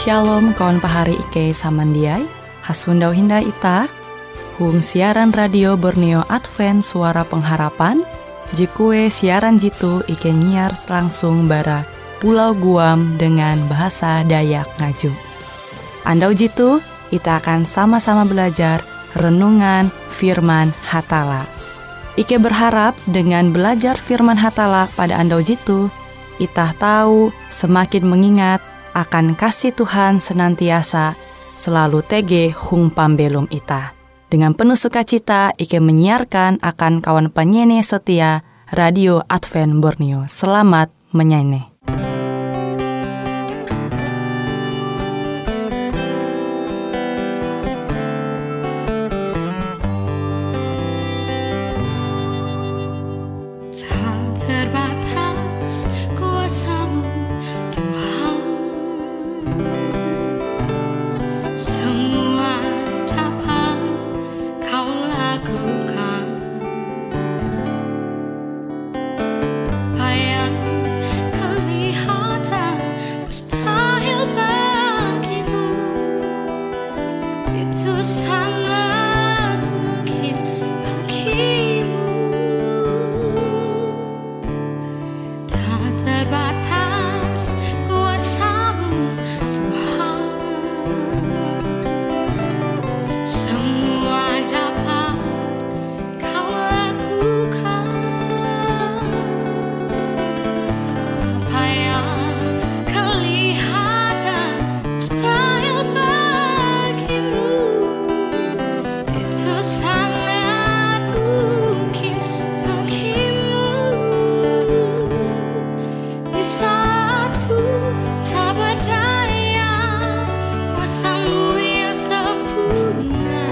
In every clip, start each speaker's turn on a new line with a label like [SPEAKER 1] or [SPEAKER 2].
[SPEAKER 1] Shalom kawan pahari Ike samandiai, hasundau hinda ita, hung siaran radio Borneo Advent Suara Pengharapan, jikue siaran jitu Ike nyiar langsung bara Pulau Guam dengan bahasa Dayak Ngaju. Andau jitu, kita akan sama-sama belajar renungan firman Hatala. Ike berharap dengan belajar firman Hatala pada andau jitu, itah tahu semakin mengingat akan kasih Tuhan senantiasa selalu tege hung pambelum ita. Dengan penuh sukacita, Ike menyiarkan akan kawan penyanyi setia Radio Advent Borneo. Selamat menyanyi.
[SPEAKER 2] Tak terbatas kuasa-Mu Tuhan, semua dapat Kau lakukan. Apa yang kelihatan mustahil bagimu, itu sangat mungkin bagimu. Tak terbatas kuasa-Mu Tuhan, semua dapat Kau lakukan. Apa yang kelihatan mustahil bagimu, itu sangat mungkin bagimu. Di saat ku tak berdaya, kuasa-Mu yang sempurna.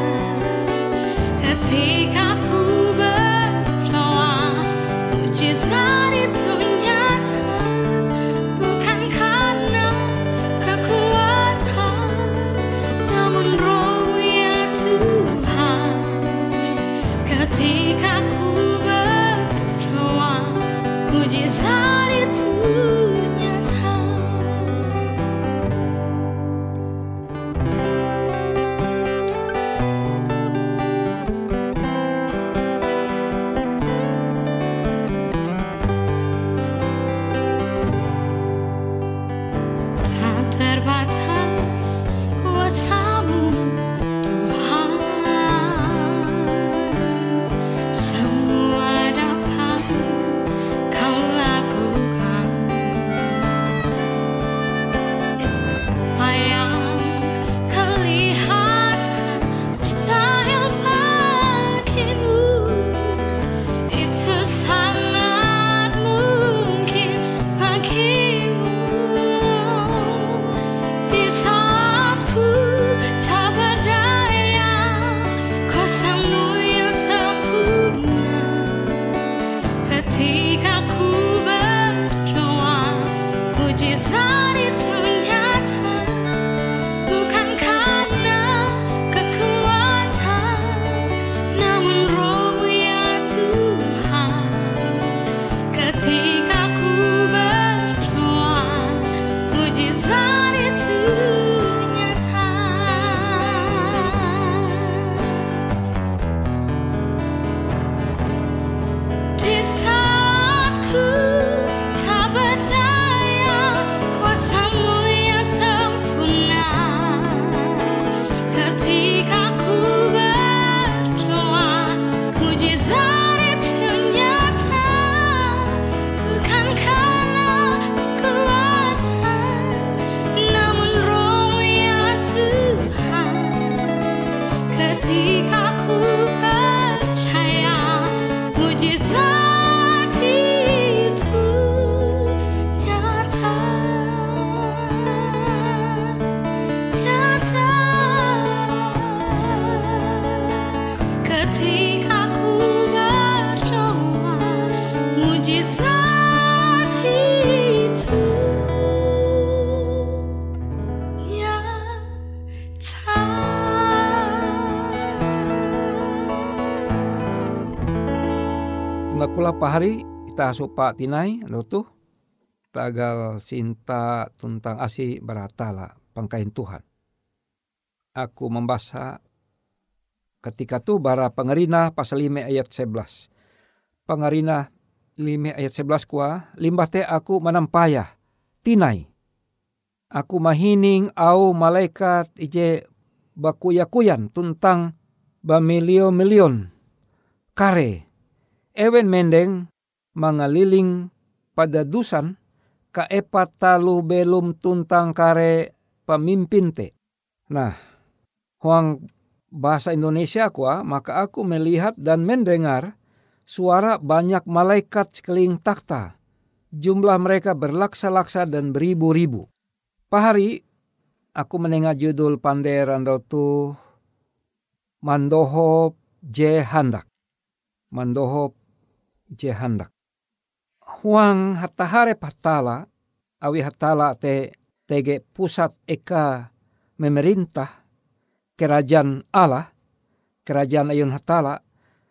[SPEAKER 2] Ketika ku berdoa, mujizat itu nyata. Bukan karena kekuatan, namun Roh ya Tuhan. Ketika ku berdoa, mujizat itu nyata. Tak terbatas kuasa-Mu Tuhan, semua dapat Kau lakukan. Apa yang kelihatan mustahil bagimu, itu sangat mungkin bagimu. Di saat ku tak berdaya, kuasa-Mu yang sempurna. Ketika ku berdoa, mujizat itu nyata. Bukan karena kekuatan, namun Roh-Mu ya Tuhan. Ketika ku berdoa, mujizat itu nyata. Di saat ku tak berdaya, kuasa-Mu yang sempurna. Ketika ku berdoa, mujizat itu nyata. Bukan karena kekuatan, namun Roh ya Tuhan. Ketika ku percaya, mujizat itu nyata. Nyata. Ketika ku berdoa, mujizat itu nyata.
[SPEAKER 3] Nakula pahari kita supa tinai lotuh tagal sinta tuntang asi baratala. pangkain Tuhan. Aku membaca ketika tu bara Pengerina pasal 5 ayat 11. Pengerina 5 ayat 11 kuah, limbah te aku menampayah, tinai. Aku mahining au malaikat ije bakuya-kuyan tuntang bamilio-milion kare. Ewen mendeng mangaliling pada dusan kaepat talu belum tuntang kare pemimpin te. Nah, huang bahasa Indonesia kuah, maka aku melihat dan mendengar suara banyak malaikat sekeliling takhta. Jumlah mereka berlaksa-laksa dan beribu-ribu. Pahari aku mendengar judul panderan tu Mandohop Je Handak. Mandohop Je Handak. Huang hatahare patala, awi hatala tege pusat eka memerintah kerajaan Allah, kerajaan ayun hatala.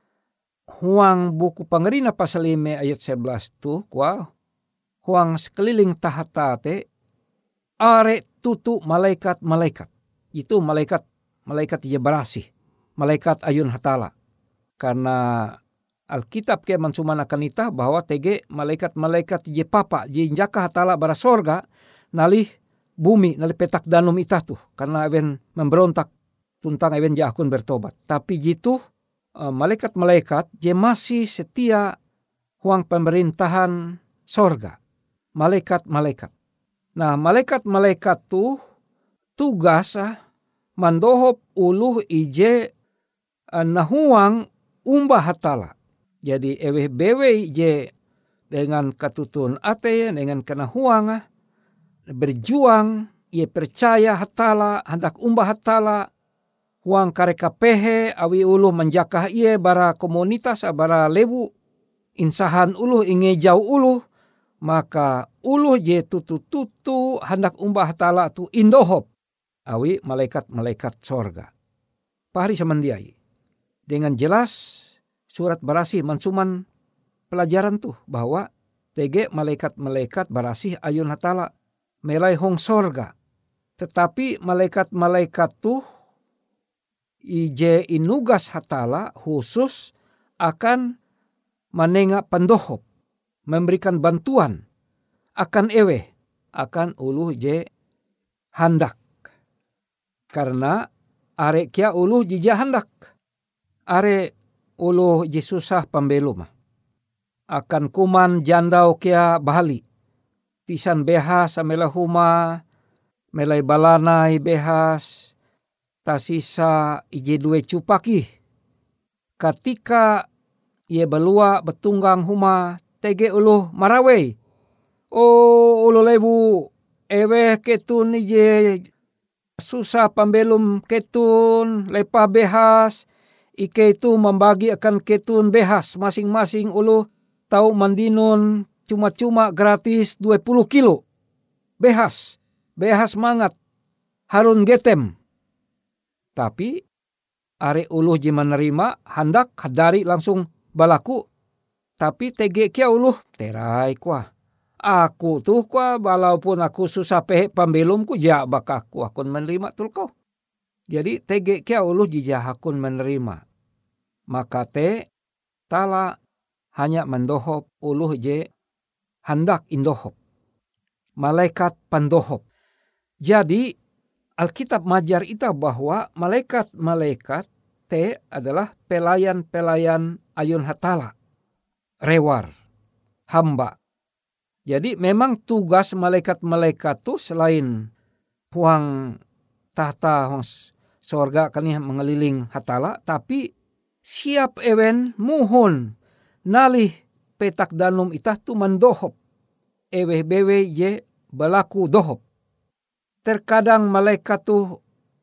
[SPEAKER 3] Huang buku Pengerina pasal 5 ayat 11 tu kuah, huang sekeliling tahta te are tutu malaikat-malaikat. Itu malaikat je barasih, malaikat ayun hatala. Karena Alkitab ke mansuman akan itah bahwa tege malaikat-malaikat je papa je jaka hatala bara sorga nalih bumi nalih petak danum itah tuh, karena ewen memberontak tuntang ewen jakun bertobat. Tapi jitu malaikat-malaikat je masih setia huang pemerintahan sorga. Malaikat-malaikat. Nah, malaikat-malaikat tu tugas mandohop uluh ije nahuang umbah hatala. Jadi eweh bewe je dengan katutun ate, dengan kenahuang berjuang, ia percaya hatala, hendak umbah hatala, huang kareka pehe awi uluh menjakah ia bara komunitas, bara lewu, insahan uluh ingejau uluh, maka uluh je tutu-tutu hendak umbah hatala tu indohop, awi malaikat-malaikat sorga. Pahari samandiai. Dengan jelas surat barasih mansuman pelajaran tuh bahwa tege malaikat-malaikat barasih ayun hatala melai hong sorga. Tetapi malaikat-malaikat tuh ije inugas hatala khusus akan menengah pendohop, memberikan bantuan akan ewe, akan uluh je handak. Karena are kia uluh jija handak. Are uluh je susah pembelum. Akan kuman jandau kia bahali. Tisan behas amela huma, melai balanai behas, tasisa ije due cupaki. Ketika ia belua betunggang huma, tege uluh marawei. Oh uluh lebu, ewe ketun ije susah pembelum ketun, lepah behas, ike itu membagi akan ketun behas. Masing-masing uluh tahu mandinun cuma-cuma gratis 20 kilo. Behas mangat, harun getem. Tapi are uluh je menerima, hendak hadari langsung balaku. Tapi tege kia uluh, terai kuah. Aku tuh kuah, walaupun aku susah pehe pembelum ku jak bakaku akun menerima tul kau. Jadi tege kia uluh jijah akun menerima. Maka te tala hanya mendohop uluh je hendak indohop. Malaikat pendohop. Jadi Alkitab majar ita bahwa malaikat-malaikat te adalah pelayan-pelayan ayun hatala. Rewar, hamba. Jadi memang tugas malaikat-malaikat tu selain huang tahta huang sorga kani mengeliling hatala, tapi siap ewen muhun nalih petak danum itah tu mendohop. Eweh bewe je balaku dohop. Terkadang malaikat tu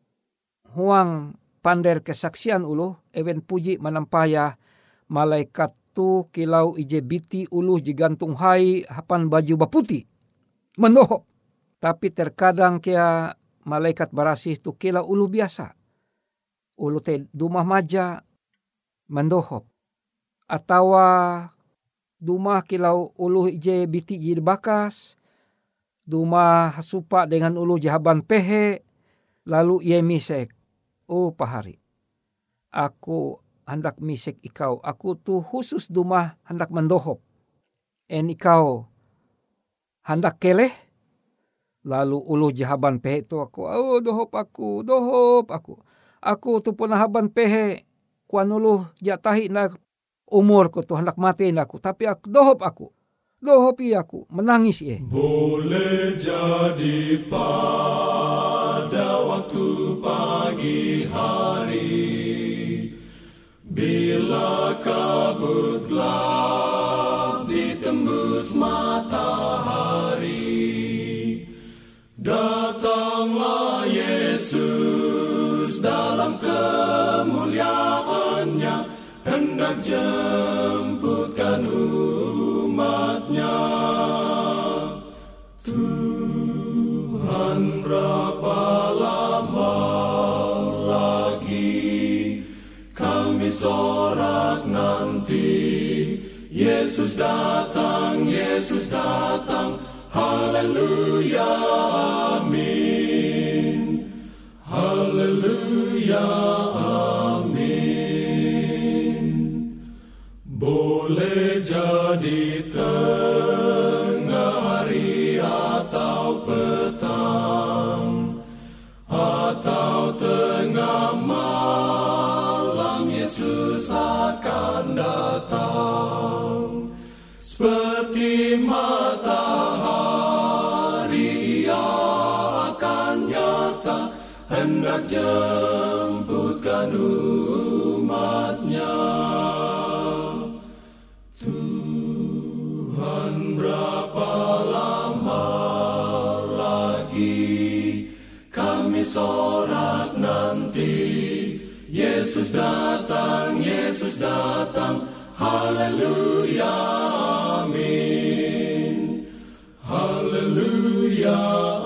[SPEAKER 3] huang pander kesaksian uluh, ewen puji menampaya malaikat tu kilau ije biti uluh jigantung hai hapan baju baputi. Mendohop. Tapi terkadang kia malaikat barasih tu kilau uluh biasa. Uluh te dumah maja mendohop. Atawa dumah kilau uluh ije biti jibakas, duma hasupa dengan ulu jahaban pehe, lalu ia misek. Oh pahari, aku hendak misek ikau, aku tu khusus duma hendak mendohop. En ikau hendak keleh, lalu ulu jahaban pehe tu aku, oh dohop aku. Aku tu punahaban pehe, kuan ulu jatahi na umur ku tu hendak mati aku, tapi aku dohop aku. Dohopi aku, menangis ye.
[SPEAKER 4] Boleh jadi pada waktu pagi hari, bila kabut gelap ditembus matahari, datanglah Yesus dalam kemuliaannya, hendak jemputkan umatnya. Tuhan, berapa lama lagi kami sorak nanti? Yesus datang, haleluya, amin. Haleluya, amin. Boleh jadi tengah hari atau petang, atau tengah malam, Yesus akan datang. Seperti matahari ia akan nyata, hendak jemputkan umatnya. Tuhan, berapa lama lagi kami sorak nanti? Yesus datang, haleluya, amin. Haleluya,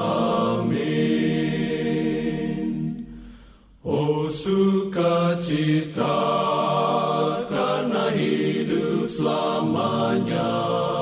[SPEAKER 4] amin. Oh sukacita karena hidup selamanya,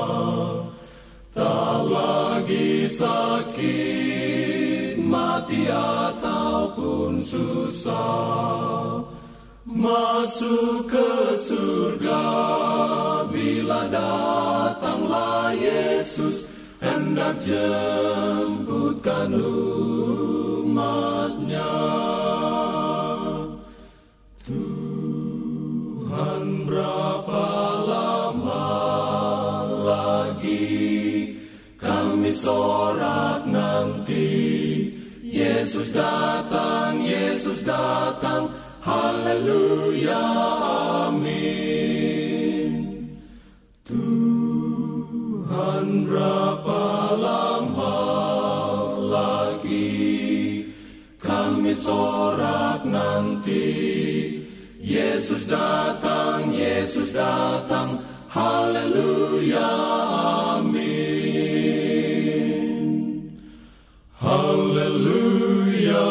[SPEAKER 4] tak lagi sakit, mati ataupun susah, masuk ke surga bila datanglah Yesus, hendak jemputkan umatnya. Tuhan, berapa lama lagi kami sorak nanti? Yesus datang, haleluya, amin. Tuhan, berapa lama lagi kami sorak nanti? Yesus datang, haleluya, amin. Haleluya,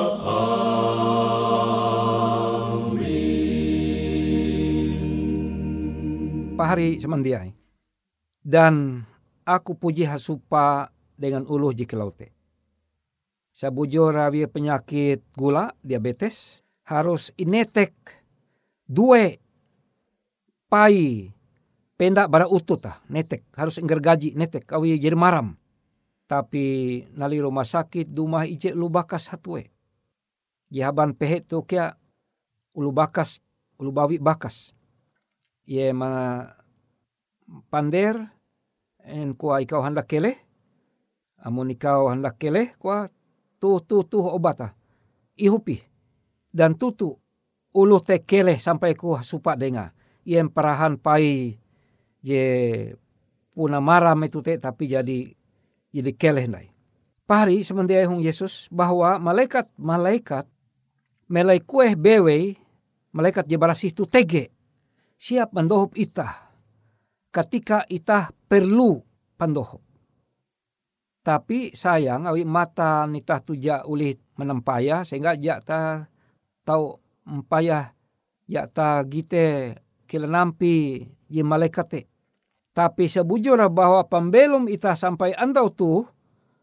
[SPEAKER 4] amin.
[SPEAKER 3] Pahari semandiai. Dan aku puji hasupa dengan uluh jikelaute. Sabujo rawi penyakit gula, diabetes, harus inetek dua pai pendak bara utut netek, harus gergaji netek kawi jadi maram. Tapi nali rumah sakit dumah ije ulu bakas hatue. Jahaban pehet tu kia ulu bawi bakas. Ye ma pander en kuah ikau hendak keleh, amun ikau hendak keleh kuah tu obat ihupi dan tutu ulu te keleh sampai kuah supa denga iem perahan pai je puna maram itu te tapi jadi keleh nai. Pahari semendia hung Yesus bahwa malaikat melai kueh bewe malaikat je barasih tu tege siap mendohop itah ketika itah perlu pandohop. Tapi sayang awi mata nitah tuja ulih menempaya sehingga jak ta tau empayah jak ta gite kila nampi je malaikate. Tapi sebujurnya bahwa pembelum itah sampai andau tu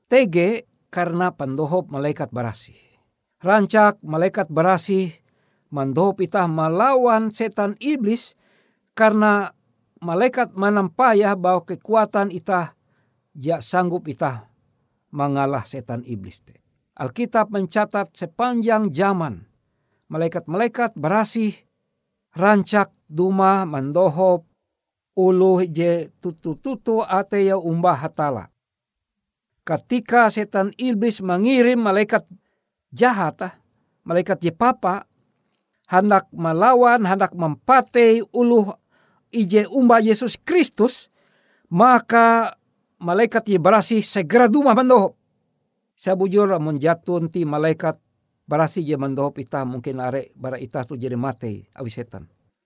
[SPEAKER 3] tege karena pandohop malaikat barasih. Rancak malaikat barasih mandohop itah melawan setan iblis karena malaikat manampayah bahwa kekuatan itah ja sanggup itah mengalah setan iblis. Alkitab mencatat sepanjang zaman malaikat-malaikat barasih rancak duma mandohop uluh je tutu-tutu ateya umbah hatala. Ketika setan iblis mengirim malaikat jahat, malaikat je papa, hendak melawan, hendak mempatei uluh ije umbah Yesus Kristus, maka malaikat je barasih segera duma mandohop. Sabujur menjatun ti malaikat barasih je mandohop itah mungkin are bara itah tu jadi mati awi setan.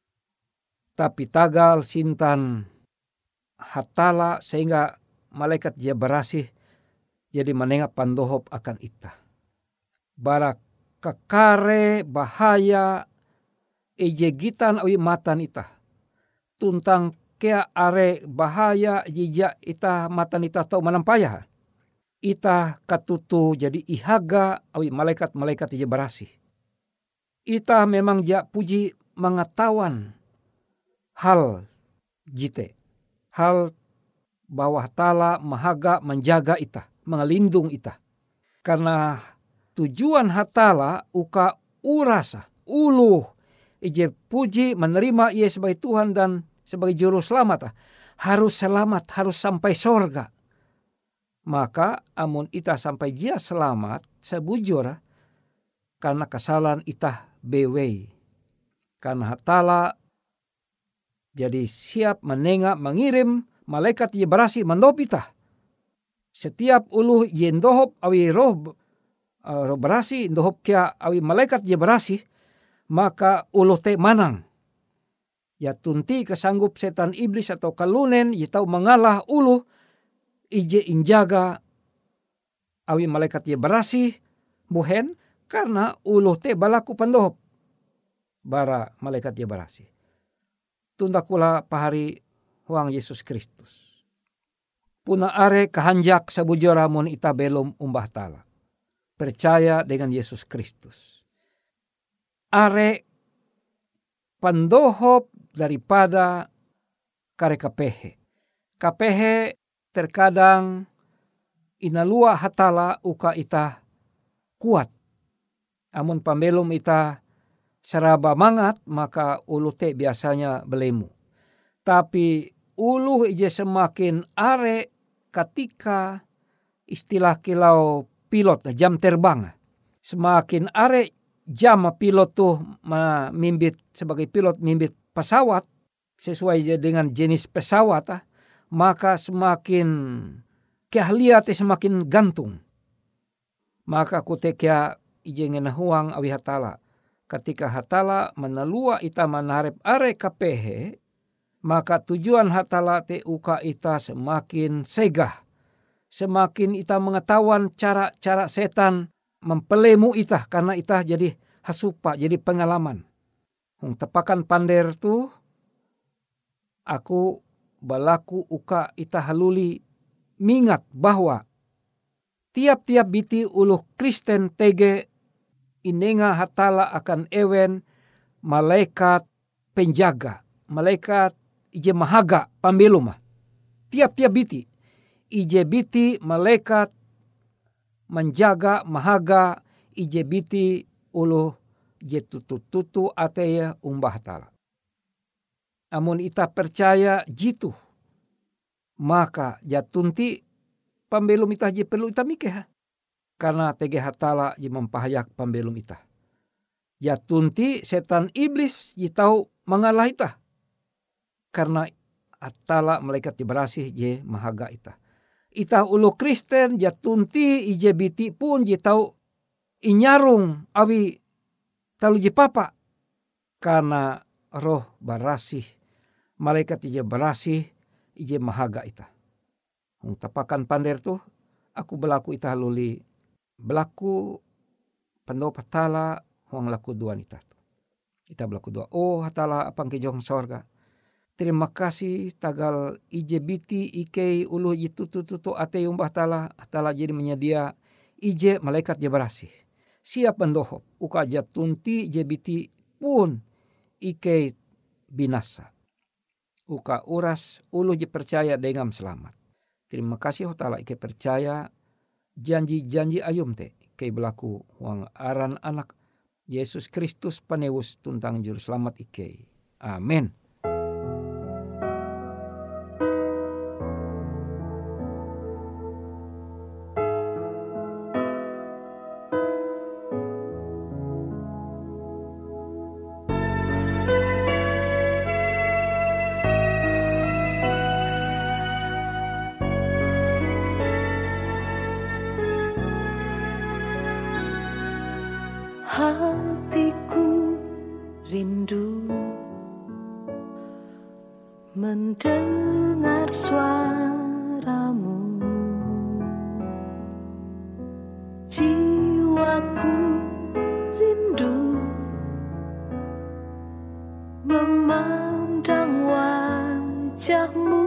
[SPEAKER 3] Tapi tagal sintan hatala sehingga malaikat je barasih jadi menengah pandohop akan itah. Bara kekare bahaya ije gitan awi matan itah. Tuntang kea are bahaya jija itah matan itah tau manampayah. Itah katutu jadi ihaga awi malaikat-malaikat ije barasih. Itah memang ja puji mengetahuan hal jite. Hal bahwa tala mahaga menjaga itah, mengelindung itah. Karena tujuan hatala uka urasa, uluh ije puji menerima ia sebagai Tuhan dan sebagai juru selamat. Harus selamat, harus sampai sorga. Maka amun itah sampai dia selamat sebujur karena kesalahan itah bewei. Karena hatala jadi siap menengah mengirim malaikat ye barasih mandop itah. Setiap uluh ye ndohop awi roh barasih ndohop kia awi malaikat ye barasih maka uluh te manang. Ya tunti kesanggup setan iblis atau kalunen ye tau mengalah uluh ije injaga awi malaikat ye barasih buhen karena uluh te balaku pandohop bara malaikat ye barasih. Tunda kula pahari huang Yesus Kristus. Puna are kahanjak sabujura mun ita belum umbah tala. Percaya dengan Yesus Kristus. Are pandohop daripada kare kapehe. Kapehe terkadang inalua hatala uka ita kuat. Amun pambelum ita seraba mangat maka ulu te biasanya belemu. Tapi ulu ije semakin are ketika istilah kilau pilot jam terbang. Semakin are jam pilot tuh mimbit sebagai pilot mimbit pesawat sesuai dengan jenis pesawat maka semakin keahlian semakin gantung. Maka kutekia ije ngenahuang awi hatala. Ketika hatala menalua ita manarep are kapehe, maka tujuan hatala te uka ita semakin segah. Semakin ita mengetahuan cara-cara setan mempelemu ita karena ita jadi hasupa, jadi pengalaman. Tepakan pander tu, aku balaku uka ita haluli mingat bahwa tiap-tiap biti uluh Kristen tege inenga hatala akan ewen malaikat penjaga, malaikat ije mahaga pambelum. Tiap-tiap biti ije biti malaikat menjaga mahaga ije biti uluh je tutu-tutu ateya umbah hatala. Amun ita percaya jitu maka jatunti pambelum ita je perlu ita mikeh. Karena tege hatala je mempahayak pambelum ita. Ya tunti setan iblis je tahu mengalah ita. Karena hatala malaikat je barasih je mahaga ita. Ita ulu Kristen ya tunti ije biti pun je tahu inyarung awi talu je papa. Karena roh barasih malaikat je barasih ije mahaga ita. Tapakan pander tuh aku belaku ita luli belaku pandau patala huang laku dua nita. Ita belaku dua. Oh hatala apang kejong sorga. Terima kasih tagal IJBT IK ulu itu ate umbah tala jadi menyedia IJ malaikat je berasih. Siap pendohop uka jatunti JBT pun IK binasa. Uka uras ulu je percaya dengan selamat. Terima kasih hotala IK percaya janji-janji ayum te IK berlaku wang aran anak Yesus Kristus panewus tuntang juru selamat IK. Amin.
[SPEAKER 2] Hatiku rindu mendengar suaramu, jiwaku rindu memandang wajahmu.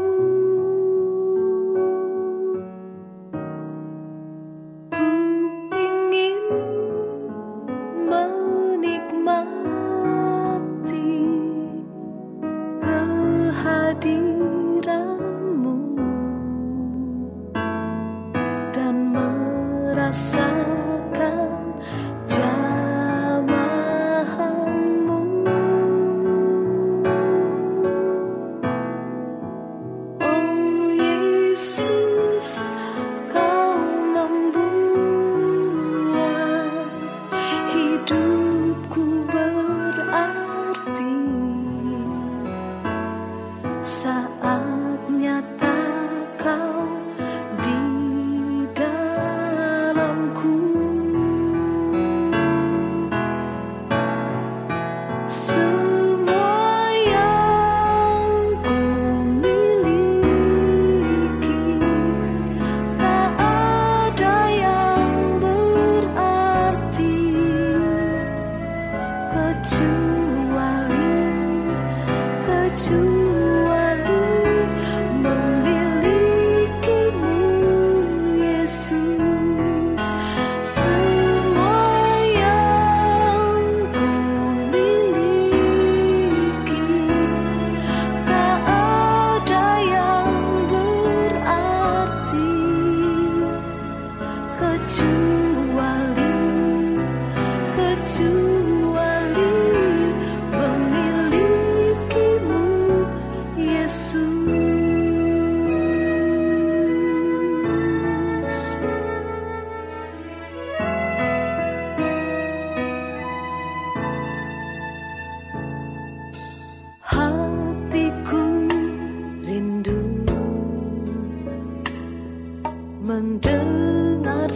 [SPEAKER 2] Mendengar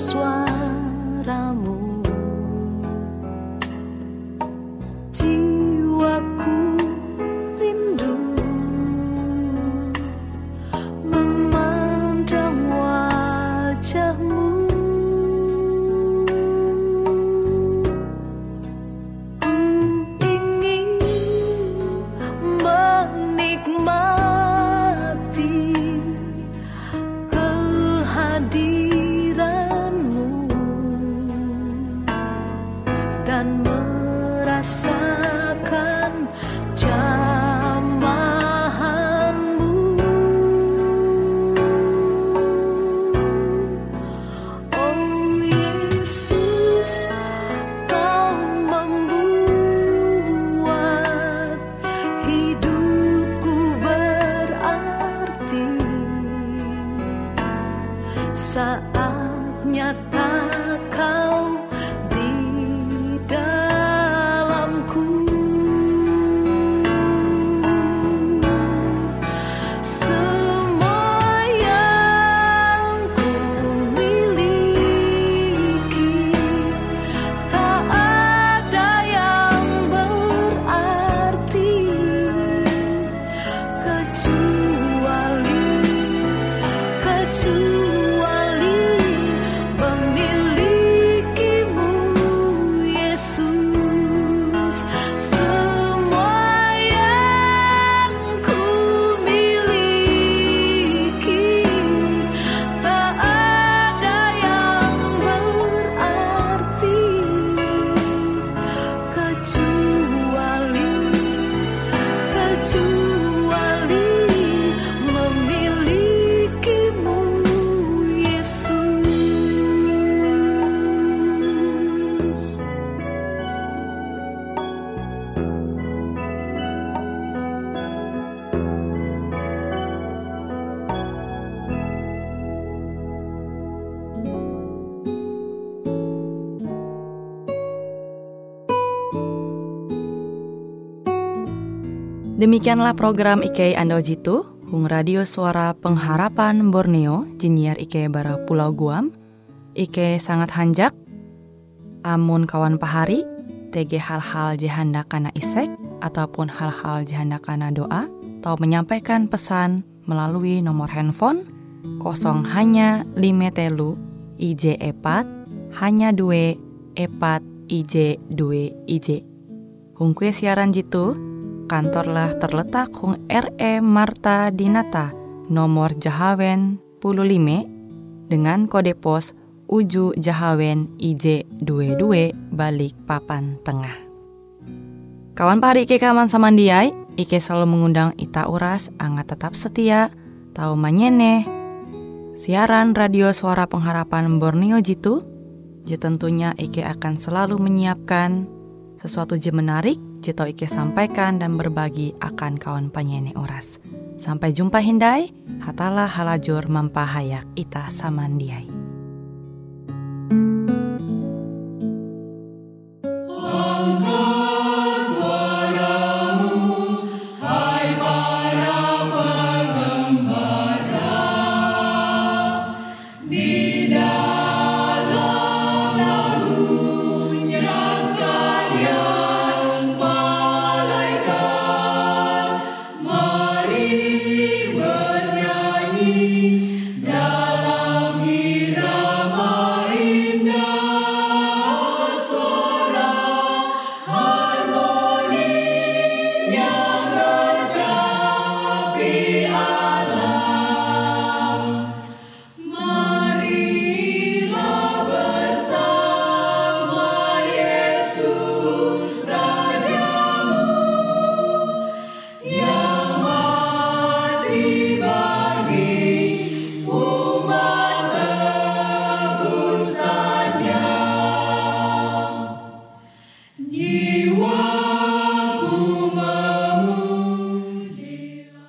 [SPEAKER 2] suaramu, jiwaku rindu memandang wajahmu. Ku ingin menikmati kehadiranmu dan merasakan jamahanmu. Oh Yesus, Kau membuat hidupku berarti. Saat nyata Kau di dalamku, semua yang ku miliki tak ada yang berarti kecuali memiliki
[SPEAKER 1] Demikianlah program Ike Ando Jitu, Hung Radio Suara Pengharapan Borneo, Jinier Ike bara Pulau Guam. Ike sangat hanjak, amun kawan pahari, TG hal-hal jihanda kana isek, ataupun hal-hal jihanda kana doa, atau menyampaikan pesan melalui nomor handphone 0 hanya 5 telu IJ 4 hanya 2 4 IJ 2 IJ. Hung kue siaran jitu, kantorlah terletak Hung RE Marta Dinata, nomor Jahawen 15 dengan kode pos Uju Jahawen IJ 22 balik papan tengah. Kawan pahari Ike kaman samandiai, Ike selalu mengundang ita uras angga tetap setia, tahu manyeneh siaran radio Suara Pengharapan Borneo jitu. Tentunya Ike akan selalu menyiapkan sesuatu je menarik, jito Ike sampaikan dan berbagi akan kawan penyanyi oras. Sampai jumpa hindai, hatalah halajur mempahayak ita samandiai.